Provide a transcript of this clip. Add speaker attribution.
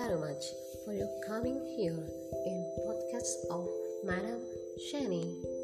Speaker 1: very much for your coming here in podcast of Madam Shani.